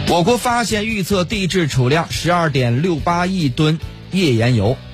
我国发现预测地质储量12.68亿吨页岩油。